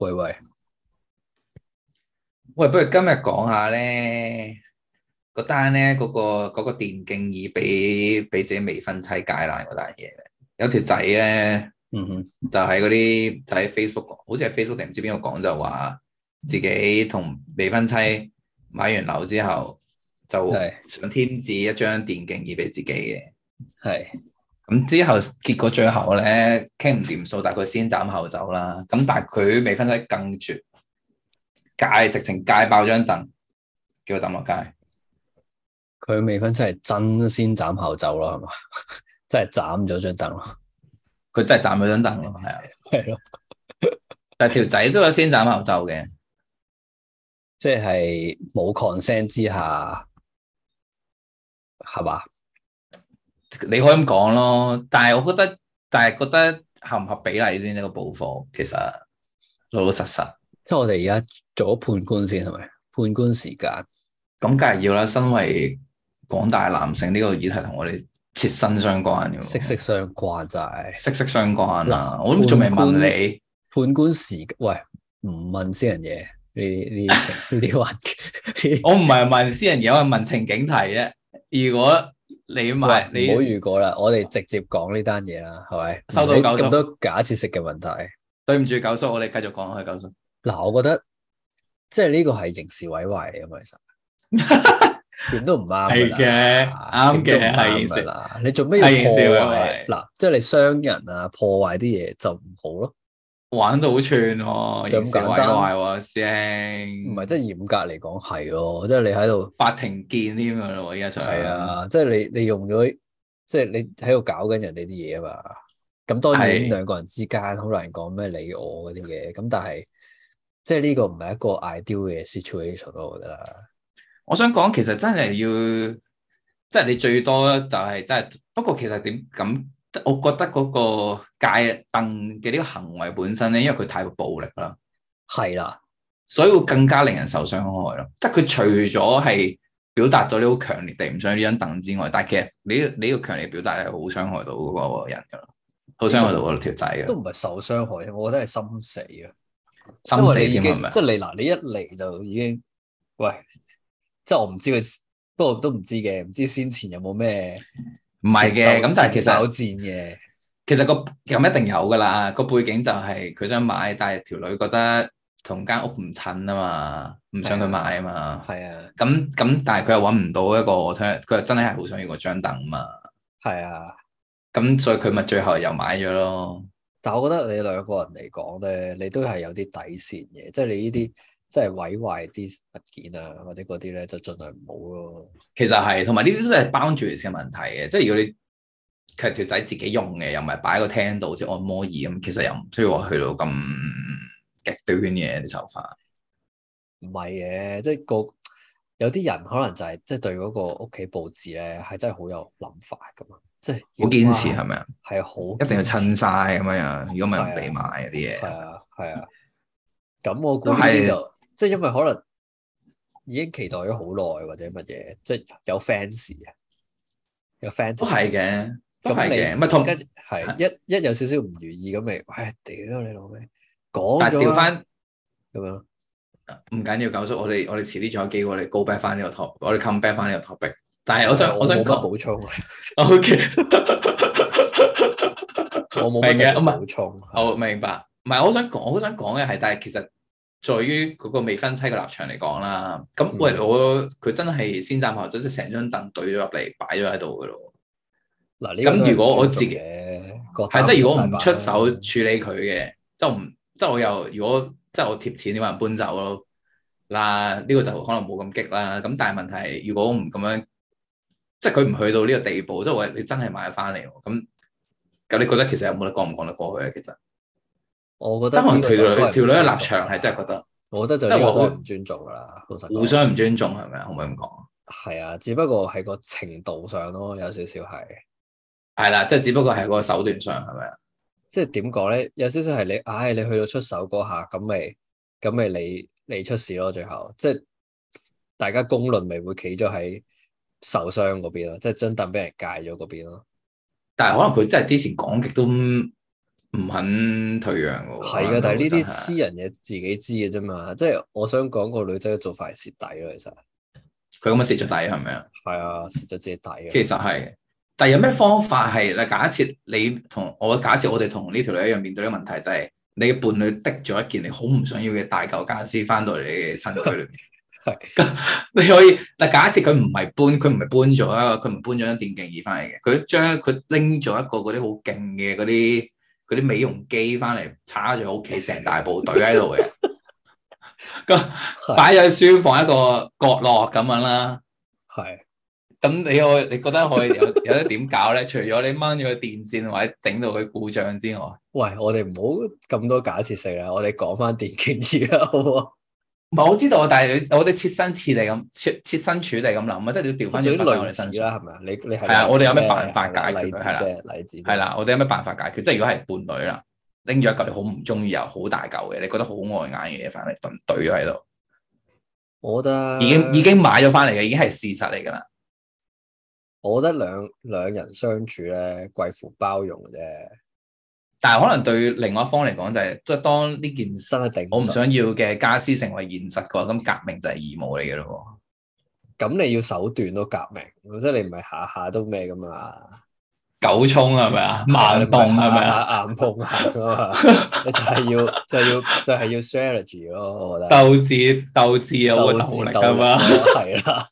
喂， 喂，不如今日講下咧嗰單咧嗰個電競椅俾自己未婚妻解爛嗰單嘢。有條仔咧嗯哼， 就喺嗰啲就喺 Facebook 講，好似係 Facebook 定唔知邊個講，就話自己同未婚妻買完樓之後就係想添置一張電競椅俾自己嘅。 係， 咁之後結果最後咧傾唔掂數，但係佢先斬後奏啦。咁但係佢未婚妻更絕，直情戒爆張凳，叫佢抌落街。 佢未婚妻係真先斬後奏咯，係嘛？真係斬咗張凳咯， 佢真係斬咗張凳咯，係啊。 係咯， 但係條仔都有先斬後奏嘅。 即係冇 consent 之下，係嘛？ 你可以咁講咯。但係覺得合唔合比例先呢個補課，其實老老實實即係我哋而家做咗判官先，係咪？判官時間， 咁梗係要啦。身為廣大男性，呢個議題同我哋切身相關嘅息息喎， 相關就係息息相關啊！ 嗱， 我都仲未問你。 判官時間，喂，唔問私人嘢，呢啲話， 我唔係問私人嘢，我係問情景題啫。如果你喂， 買你唔好預過啦，我哋直接講呢單嘢啦，係咪？唔收到九叔， 使咁多假設性嘅問題。 對唔住九叔，我哋繼續講去九叔。 嗱，我覺得即係呢個係刑事毀壞嚟嘅嘛，其實點都唔啱係噶嘅， 啦， 啱嘅， 點都唔啱係刑事， 噶啦。你做咩要係刑事破毀壞？ 壞， 嗱，即係你傷人啊，破壞啲嘢就唔好咯， 玩到好串喎， 就咁刑事毀簡單。 壞喎，師兄， 唔係，即係嚴格嚟講係咯，即係你喺度法庭見添噶咯，依家想係啊，即係你用咗，即係你喺度搞緊人哋啲嘢啊嘛。咁當然係， 兩個人之間好難講咩你我嗰啲嘢，咁但係即係呢個唔係一個 ideal 嘅 situation 咯，我覺得。 我想講其實真係要，即係你最多就係真係，不過其實點咁，我覺得嗰個戒凳嘅呢個行為本身咧，因為佢太過暴力啦。 係啦， 所以會更加令人受傷害咯。即係佢除咗係表達咗你好強烈地唔想要呢張凳之外，但係其實你呢個強烈表達係好傷害到嗰個人噶啦，好傷害到嗰條仔噶， 都唔係受傷害，我覺得係心死啊！因心死為你已經添係咪啊？ 即係你嗱，你一嚟就已經喂，即係我唔知佢，不過都唔知嘅，唔知先前有冇咩唔係嘅，咁但係前手戰嘅， 其實個咁一定有噶啦。個背景就係佢想買，但係條女覺得同間屋唔襯啊嘛，唔想佢買啊嘛。 係啊， 咁，但係佢又揾唔到一個，佢又真係好想要嗰張凳啊嘛。 係啊。 咁所以佢咪最後又買咗咯。 但係我覺得你兩個人嚟講咧，你都係有啲底線嘅，即係你呢啲即係毀壞啲物件啊，或者嗰啲咧就盡量唔好咯。 其實係，同埋呢啲都係 boundaries 嘅問題嘅，即係如果你其實條仔自己用嘅，又唔係擺喺個廳度，好似按摩椅咁，其實又唔需要話去到咁極端嘅啲手法。 唔係嘅，即係個有啲人可能就係即係對嗰個屋企佈置咧係真係好有諗法噶嘛，即係好堅持哇係咪啊？ 係好一定要堅持襯晒咁樣，如果唔係唔俾買嗰啲嘢， 係啊係啊，咁我估呢啲都係就即係因為可能已經期待咗好耐或者乜嘢，即係有 fans 啊，有都係 fantasy。 嘅，都咁係嘅，唔係你同， 跟係一有少少唔如意咁咪，喂屌你老味，講但係咗啦調翻咁樣。 唔緊要，九叔，我哋遲啲仲有機會，我哋 go back 翻呢個 topic，我哋 come back 翻呢個 topic。但係我想我冇乜我想講補充， ，OK， 我冇乜明嘅， 特別唔係。 補充。 我明白，唔係我好想講嘅係，但係其實在於嗰個未婚妻嘅立場嚟講啦，咁嗯喂佢真係先斬後奏，即係成張凳懟咗入嚟擺咗喺度嘅咯。 嗱呢個都咁如果係唔尊重我自己嘅，各係即係如果我打唔大板唔出手啦。 處理佢嘅，即係我唔即係我又如果即係我貼錢，你話人搬走咯嗱，呢個就可能冇咁激啦。咁但係問題係，如果我唔咁樣，即係佢唔去到呢個地步，即係話你真係買翻嚟，咁你覺得其實有冇得講唔講得過去咧？其實？ 我覺即係可能得呢個就都係條女嘅唔尊重立場係真係覺㗎啦。 得， 我覺得就即係話呢個都係唔尊重噶啦，老實講。 互相唔尊重係咪啊？可唔可以咁講？ 係啊，只不過係個程度上咯，有少少係。 係啦，即係只不過係個手段上係咪啊？ 即係點講咧？有少少係你，唉，你去到出手嗰下，咁咪你出事咯。最後即係大家公論咪會企咗喺受傷嗰邊咯，即係張凳俾人戒咗嗰邊咯。 但係可能佢真係之前講極都唔肯退讓嘅喎。 係噶，但係呢啲真係私人嘢自己知嘅啫嘛。即係我想講個女仔嘅做法係蝕底咯，其實佢咁樣蝕咗底係咪啊？ 係啊，蝕咗自己底啊。 其實係，但係有咩方法係嗱？假設你同我，假設我哋同呢條女一樣面對呢個問題，就係你嘅伴侶滴咗一件你好唔想要嘅大舊家私翻到嚟你嘅新居裏面。 係咁你可以嗱，假設佢唔係搬，佢唔係搬咗啊，佢唔搬咗張電競椅翻嚟嘅，佢拎咗一個嗰啲好勁嘅嗰啲美容機翻嚟，叉住屋企成大部隊喺度嘅，咁擺咗喺書房一個角落咁樣啦。 係咁你覺得可以有得點搞咧？除咗你掹咗個電線或者整到佢故障之外， 喂，我哋唔好咁多假設性啦，我哋講翻電競椅啦，好唔好？ 唔係我知道，但係我哋設身處地咁設身處地咁諗啊，即係你要調翻轉翻我哋身上啦，係咪啊？你係係啊，我哋有咩辦法解決佢？係啦， 例子係啦，我哋有咩辦法解決？即係如果係伴侶啦，拎咗一嚿你好唔中意又好大嚿嘅，你覺得好礙眼嘅嘢翻嚟懟咗喺度， 我覺得已經買咗翻嚟嘅，已經係事實嚟㗎啦。 我覺得兩人相處咧，貴乎包容嘅啫。 但係可能對另外一方嚟講就係，即係當呢件真係頂唔順我唔想要嘅家私成為現實嘅話，咁革命就係義務嚟嘅咯。 咁你要手段都革命，即係你唔係下下都咩噶嘛？ 九衝係咪啊？慢動係咪啊？ 硬碰硬啊嘛？你就係要 strategy 咯，我覺得鬥智有個鬥力啊嘛。 係啦，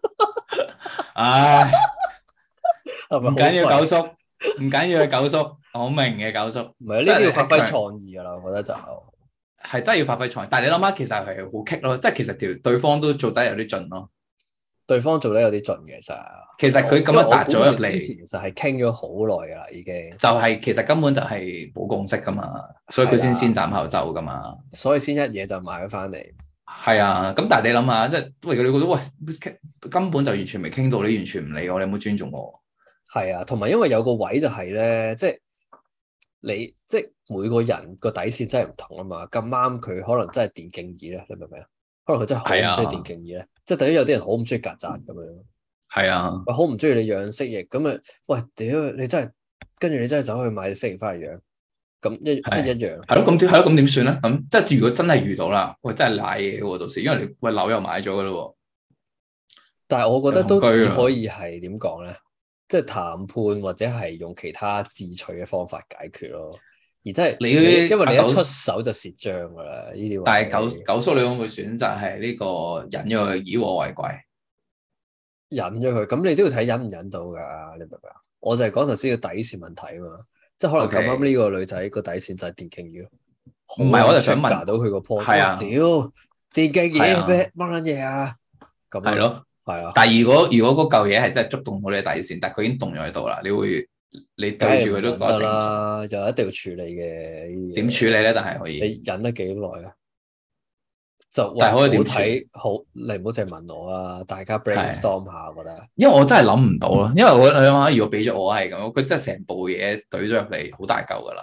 唉， 係咪唔緊要九叔，唔緊要嘅九叔，我明嘅九叔。 唔係呢啲要發揮創意噶啦，我覺得就係真係要發揮創意。但係你諗下，其實係好棘咯，即係其實對方都做得有啲盡咯。 對方做得有啲盡嘅， 其實佢咁樣踏咗入嚟， 其實係傾咗好耐噶啦，已經。 就係其實根本就係冇共識噶嘛，所以佢先斬後奏噶嘛。 所以先一嘢就買咗翻嚟。 係啊，咁但係你諗下，即係喂你覺得喂根本就完全未傾到，你完全唔理我，你有冇尊重我？ 係啊，同埋因為有個位就係咧，即係每個人個底線真係唔同啊嘛。咁啱佢可能真係電競椅咧，你明唔明啊？可能佢真係好唔中意電競椅咧，即係等於有啲人好唔中意曱甴咁樣。 係啊， 喂，好唔中意你養蜥蜴咁啊！喂，屌你真係，跟住你真係走去買隻蜥蜴翻嚟養，咁即係一樣。 係咯，咁點算咧？咁即係如果真係遇到啦，喂，真係賴嘢喎，到時因為你喂樓又買咗噶啦喎。 但係我覺得都只可以係點講咧，即係談判或者係用其他智取嘅方法解決咯。而真係因為你一出手就蝕章噶啦，呢啲。 但係九叔，你會唔會選擇係呢個忍咗佢以和為貴？ 忍咗佢，咁你都要睇忍唔忍到噶，你明唔明啊？我就係講頭先個底線問題啊嘛，即係可能咁啱呢個女仔個底線就係電競椅咯。 唔係，我就想問到佢個 point。 係啊， 屌電競椅咩乜撚嘢啊？咁係咯， 係啊。 但係如果嗰嚿嘢係真係觸動到你嘅底線，但係佢已經動咗喺度啦，你對住佢都得啦，就一定要處理嘅。 點處理咧？但係可以。 你忍得幾耐啊？就但係可以點睇好，你唔好淨係問我啊！大家 brainstorm 下，我覺得。 因為我真係諗唔到咯，因為我諗下，如果俾咗我係咁，佢真係成部嘢懟咗入嚟，好大嚿噶啦。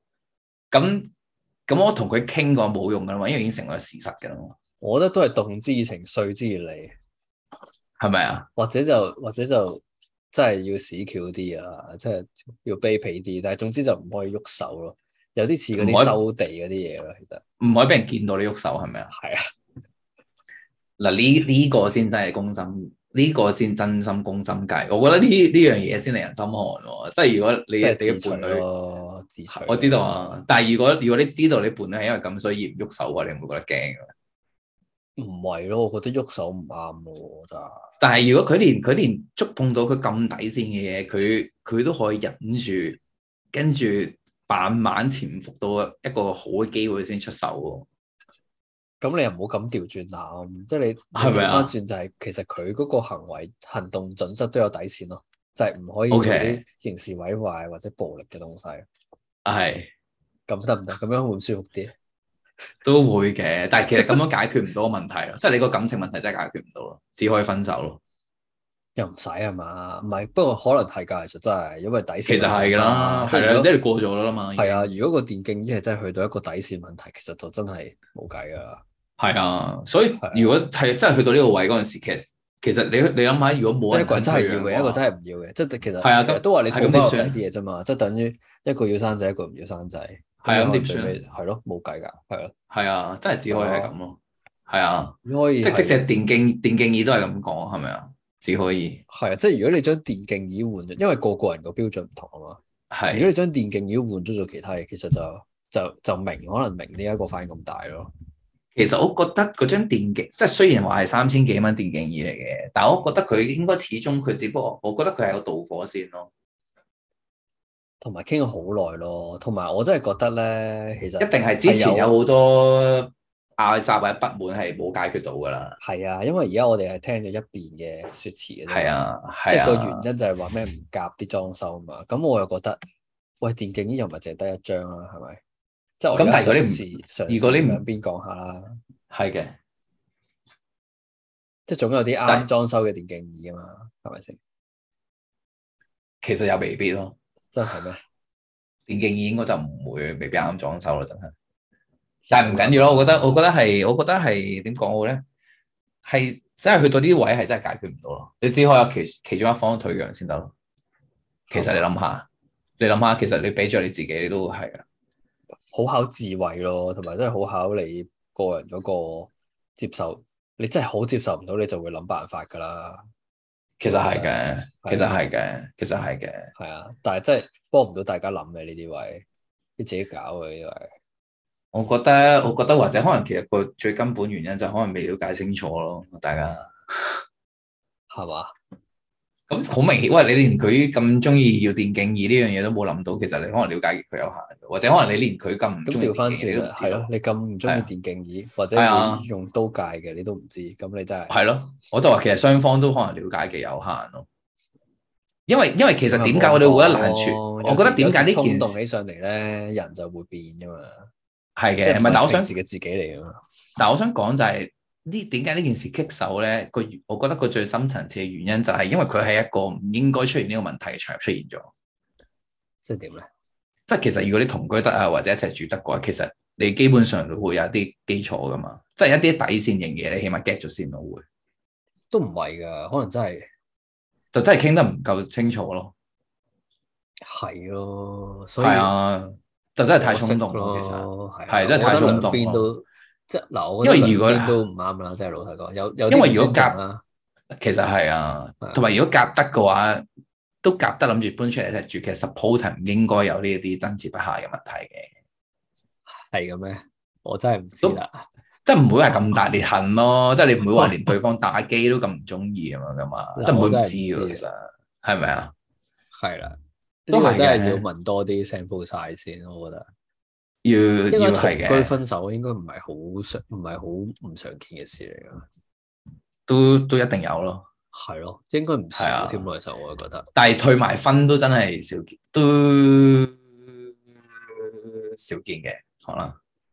咁我同佢傾過冇用噶啦嘛，因為已經成為事實噶啦嘛。 我覺得都係動之以情，說之以理， 係咪啊？ 或者就真係要屎橋啲啊，即係要卑鄙啲。但係總之就唔可以喐手咯，有啲似嗰啲收地嗰啲嘢咯，其實。 唔可以俾人見到你喐手，係咪啊？ 係啊。 嗱，呢個先真係攻心，呢個先真心攻心計。我覺得呢樣嘢先令人心寒喎。即係如果你嘅伴侶自取， 我知道啊。但係如果你知道你伴侶係因為咁所以唔喐手嘅話，你唔會覺得驚嘅？ 唔係咯，我覺得喐手唔啱咯，真係。 但係如果佢連觸碰到佢咁底線嘅嘢，佢都可以忍住，跟住慢慢潛伏到一個好嘅機會先出手喎。 咁你又唔好咁調轉諗，即係你調翻轉就係其實佢嗰個行動準則都有底線咯，就係唔可以做啲刑事毀壞或者暴力嘅東西。 係， 咁得唔得？咁樣會唔舒服啲？ 都會嘅，但係其實咁樣解決唔到個問題咯，即係你個感情問題真係解決唔到咯，只可以分手咯。 又唔使係嘛？唔係，不過可能係㗎，其實真係因為底線。 其實係㗎啦，係啦，即係過咗啦嘛。 係啊，如果個電競椅係真係去到一個底線問題，其實就真係冇計㗎啦。 係啊，所以如果係真係去到呢個位嗰陣時，其實其實你諗下，如果冇人即係一個人真係要嘅，一個真係唔要嘅，即係其實都話你套翻落第啲嘢啫嘛，即係等於一個要生仔，一個唔要生仔。 係咁點算？ 係咯，冇計㗎，係咯。 係啊，真係只可以係咁咯。係啊， 可以即使係電競椅都係咁講，係咪啊？只可以係啊，即係如果你將電競椅換咗，因為個個人個標準唔同啊嘛。係。如果你將電競椅換咗做其他嘢，其實就可能明呢一個反應咁大咯。 其實我覺得嗰張電競，即係雖然話係3000幾蚊電競椅嚟嘅，但係我覺得佢應該始終佢只不過，我覺得佢係個導火線咯。 同埋傾咗好耐咯，同埋我真係覺得咧，其實一定係之前有好多嗌殺或者不滿係冇解決到噶啦。 係啊，因為而家我哋係聽咗一邊嘅説辭嘅啫。 係啊， 即係個原因就係話咩唔夾啲裝修啊嘛。咁我又覺得，喂，電競椅又唔係淨係得一張啦，係咪？即係我而家如果你兩邊講下啦， 係嘅， 即係總有啲啱裝修嘅電競椅啊嘛，係咪先？ 其實又未必咯。 真係咩？ 電競椅應該就唔會未必啱裝修咯，真係。但係唔緊要咯，我覺得係點講好咧？係真係去到啲位係真係解決唔到咯。你只可以有其中一方退讓先得咯。其實你諗下，其實你俾咗你自己，你都係啊。 好考智慧咯，同埋真係好考你個人嗰個接受。你真係好接受唔到，你就會諗辦法噶啦。 其實係嘅，其實係嘅。 係啊，但係真係幫唔到大家諗嘅呢啲位，你自己搞嘅呢位。 我覺得或者可能其實個最根本原因就可能未了解清楚咯，大家係嘛？ 咁好明顯，喂，你連佢咁中意要電競椅呢樣嘢都冇諗到，其實你可能了解佢有限，或者可能你連佢咁唔中意電競椅都唔知。係咯， 你咁唔中意電競椅，或者用刀界嘅，你都唔知，咁你真係係咯。我就話其實雙方都可能了解嘅有限咯。因為其實點解我哋會覺得難處？我覺得點解呢件事衝動起上嚟咧，人就會變噶嘛。 係嘅，唔係，但我想自己嚟噶嘛。 但我想講就係點解呢件事棘手咧？我覺得個最深層次嘅原因就係因為佢係一個唔應該出現呢個問題嘅場合出現咗。 即係點咧？ 即係其實如果你同居得啊，或者一齊住得嘅話，其實你基本上都會有一啲基礎噶嘛。即係一啲底線型嘢，你起碼 get 咗先咯會。 都唔係噶，可能真係就真係傾得唔夠清楚咯。 係咯，所以係啊，就真係太衝動咯。其實係真係太衝動咯。 即係嗱， 因為如果都唔啱啦，即係老實講，有因為如果夾，其實係啊，同埋如果夾得嘅話，都夾得諗住搬出嚟一齊住，其實 suppose 係唔應該有呢一啲爭持不下嘅問題嘅。 係嘅咩？我真係唔知啦。 即係唔會係咁大裂痕咯，即係你唔會話連對方打機都咁唔中意啊嘛，咁啊，即係唔會唔知喎，其實係咪啊？ 係啦，都係真係要問多啲 sample size 先，我覺得。 要係嘅。 同居分手應該唔係好唔常見嘅事嚟噶， 都一定有咯。 係咯，應該唔少添咯，其實我覺得。 但係退埋婚都真係少見，都少見嘅，可能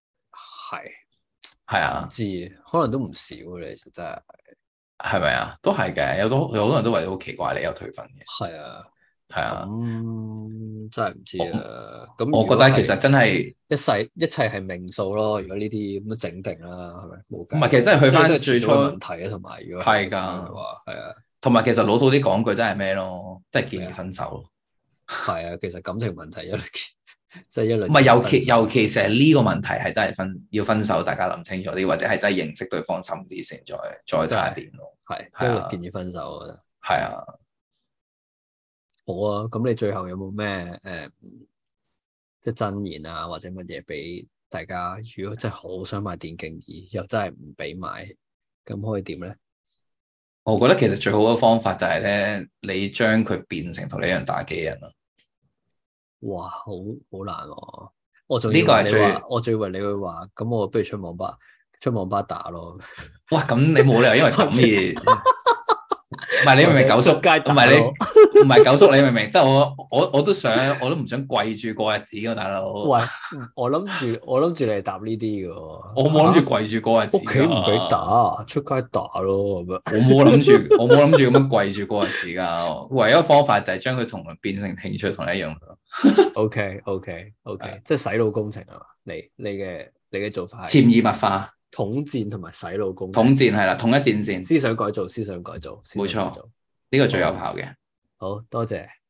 係啊， 唔知可能都唔少嘅，其實真係。 係咪啊？都係嘅，有好多人都話好奇怪你有退婚嘅。 係啊。 係啊， 真係唔知啊。咁我覺得其實真係一切係命數咯。如果呢啲咁都整定啦，係咪？冇計。 唔係，其實真係去翻最初問題啊，同埋如果係㗎， 係啊。 同埋其實老土啲講句真係咩咯？即係建議分手咯。 係啊，其實感情問題即係一輪。 唔係尤其是係呢個問題係真係要分手，大家諗清楚啲，或者係真係認識對方深啲先，再睇下點咯。 係一律建議分手，我覺得。 係啊。 好啊，咁你最後有冇咩即係真言啊，或者乜嘢俾大家？如果真係好想買電競椅，又真係唔俾買，咁可以點咧？ 我覺得其實最好嘅方法就係咧，你將佢變成同你一樣打機人咯。 哇，好難喎！我仲以為你會話，咁我不如出網吧打咯。 哇，咁你冇理由因為咁而。唔係你明唔明九叔？唔係九叔，你明唔明？即係我都唔想跪住過日子㗎，大佬。 喂，我諗住你答呢啲嘅。 我冇諗住跪住過日子。 屋企唔俾打，出街打咯咁樣。 我冇諗住咁樣跪住過日子㗎。唯一方法就係將佢同佢變成興趣同你一樣咯。 OK，即係洗腦工程係嘛？你嘅做法係潛移默化。 統戰同埋洗腦工程。 統戰係啦，統一戰線， 思想改造，思想改造， 冇錯，呢個最有效嘅。 好多謝。